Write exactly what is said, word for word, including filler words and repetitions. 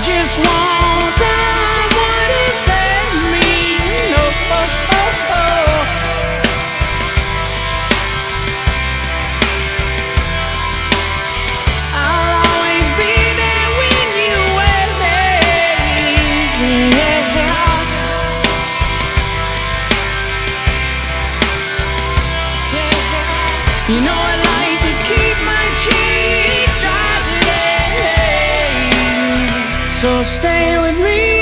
just want someone to save me. No, oh, oh, oh. I'll always be there when you wait. Yeah. You know I like to keep my cheeks dry today, so stay with me.